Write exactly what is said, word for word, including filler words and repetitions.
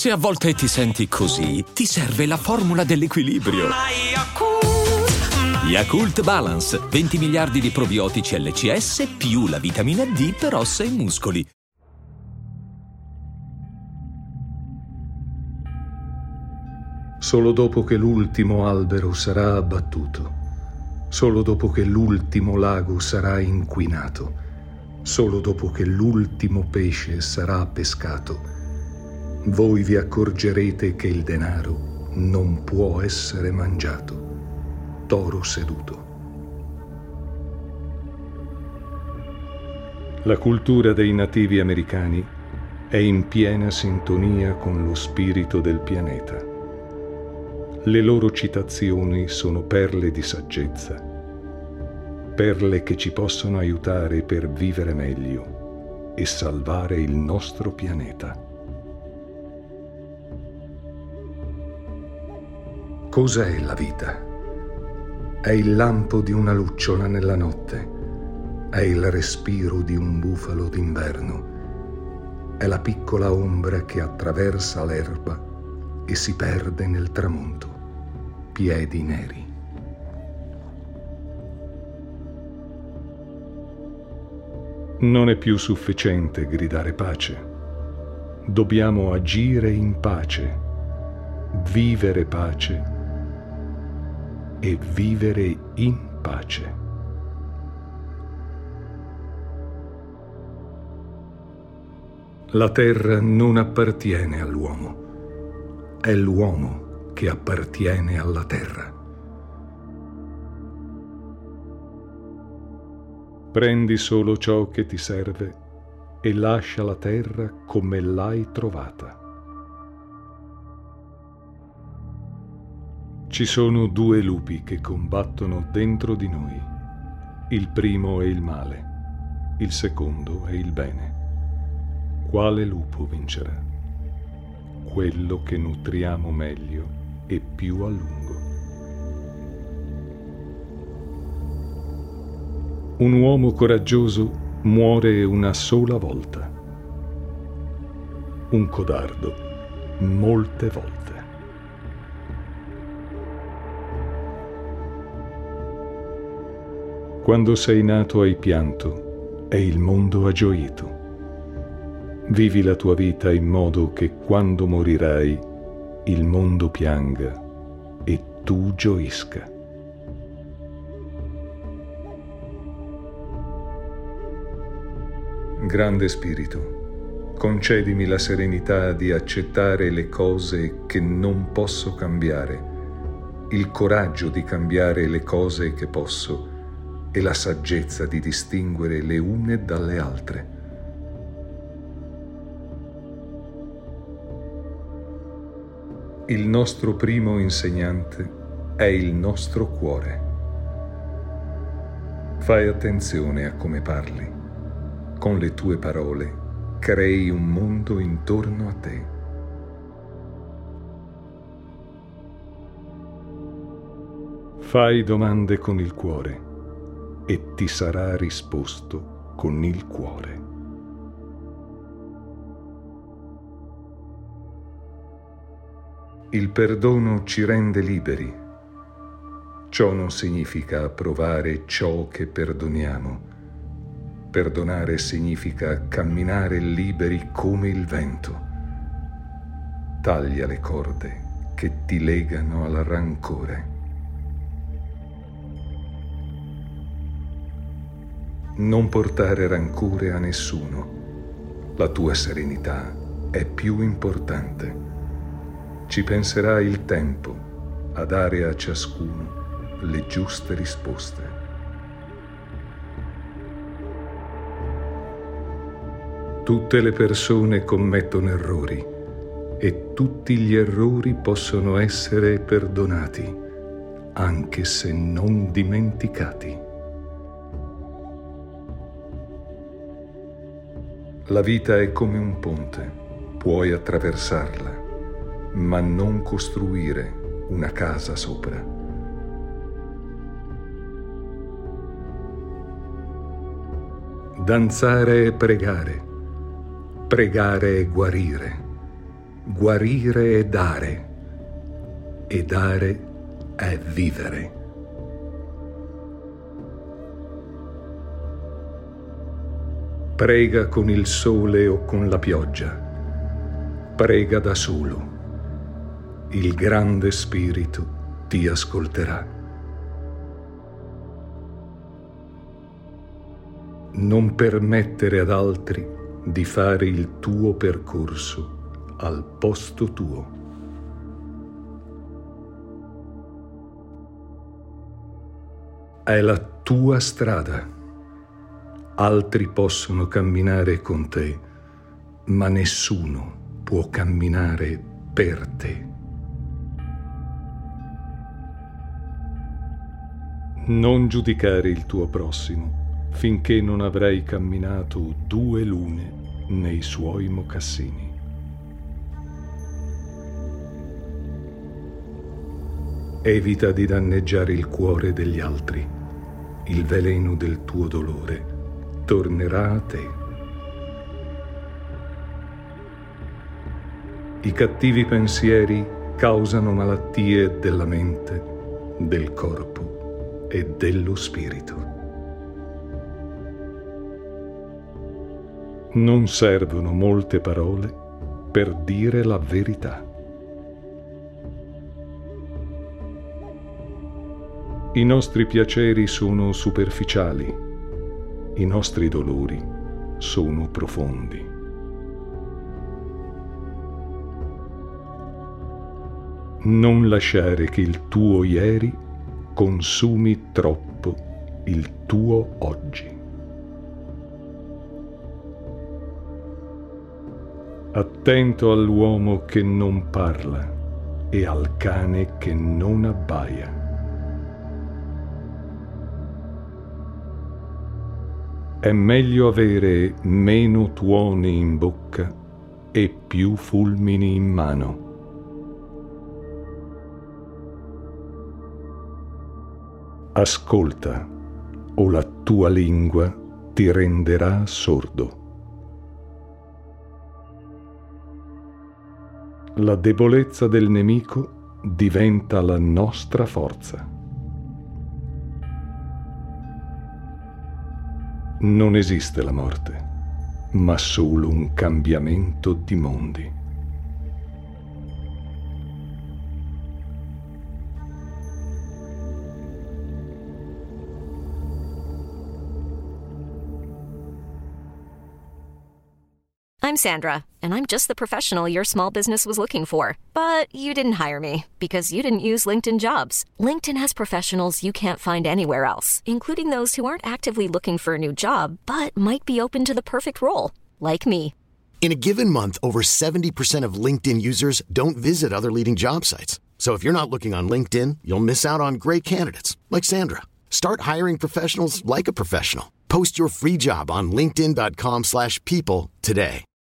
Se a volte ti senti così, ti serve la formula dell'equilibrio. Yakult Balance, venti miliardi di probiotici L C S più la vitamina D per ossa e muscoli. Solo dopo che l'ultimo albero sarà abbattuto, solo dopo che l'ultimo lago sarà inquinato, solo dopo che l'ultimo pesce sarà pescato, voi vi accorgerete che il denaro non può essere mangiato. Toro seduto. La cultura dei nativi americani è in piena sintonia con lo spirito del pianeta. Le loro citazioni sono perle di saggezza, perle che ci possono aiutare per vivere meglio e salvare il nostro pianeta. Cos'è la vita? È il lampo di una lucciola nella notte, è il respiro di un bufalo d'inverno, è la piccola ombra che attraversa l'erba e si perde nel tramonto, piedi neri. Non è più sufficiente gridare pace, dobbiamo agire in pace, vivere pace e vivere in pace. La terra non appartiene all'uomo, è l'uomo che appartiene alla terra. Prendi solo ciò che ti serve e lascia la terra come l'hai trovata. Ci sono due lupi che combattono dentro di noi. Il primo è il male, il secondo è il bene. Quale lupo vincerà? Quello che nutriamo meglio e più a lungo. Un uomo coraggioso muore una sola volta. Un codardo molte volte. Quando sei nato hai pianto e il mondo ha gioito. Vivi la tua vita in modo che quando morirai il mondo pianga e tu gioisca. Grande Spirito, concedimi la serenità di accettare le cose che non posso cambiare, il coraggio di cambiare le cose che posso e la saggezza di distinguere le une dalle altre. Il nostro primo insegnante è il nostro cuore. Fai attenzione a come parli. Con le tue parole crei un mondo intorno a te. Fai domande con il cuore e ti sarà risposto con il cuore. Il perdono ci rende liberi. Ciò non significa approvare ciò che perdoniamo. Perdonare significa camminare liberi come il vento. Taglia le corde che ti legano al rancore. Non portare rancore a nessuno. La tua serenità è più importante. Ci penserà il tempo a dare a ciascuno le giuste risposte. Tutte le persone commettono errori e tutti gli errori possono essere perdonati, anche se non dimenticati. La vita è come un ponte, puoi attraversarla, ma non costruire una casa sopra. Danzare e pregare, pregare e guarire, guarire è dare, e dare è vivere. Prega con il sole o con la pioggia, prega da solo. Il grande Spirito ti ascolterà. Non permettere ad altri di fare il tuo percorso al posto tuo. È la tua strada. Altri possono camminare con te, ma nessuno può camminare per te. Non giudicare il tuo prossimo finché non avrai camminato due lune nei suoi mocassini. Evita di danneggiare il cuore degli altri. Il veleno del tuo dolore tornerà a te. I cattivi pensieri causano malattie della mente, del corpo e dello spirito. Non servono molte parole per dire la verità. I nostri piaceri sono superficiali, i nostri dolori sono profondi. Non lasciare che il tuo ieri consumi troppo il tuo oggi. Attento all'uomo che non parla e al cane che non abbaia. È meglio avere meno tuoni in bocca e più fulmini in mano. Ascolta, o la tua lingua ti renderà sordo. La debolezza del nemico diventa la nostra forza. Non esiste la morte, ma solo un cambiamento di mondi. I'm Sandra, and I'm just the professional your small business was looking for. But you didn't hire me because you didn't use LinkedIn Jobs. LinkedIn has professionals you can't find anywhere else, including those who aren't actively looking for a new job, but might be open to the perfect role, like me. In a given month, over seventy percent of LinkedIn users don't visit other leading job sites. So if you're not looking on LinkedIn, you'll miss out on great candidates like Sandra. Start hiring professionals like a professional. Post your free job on linkedin dot com slash people today.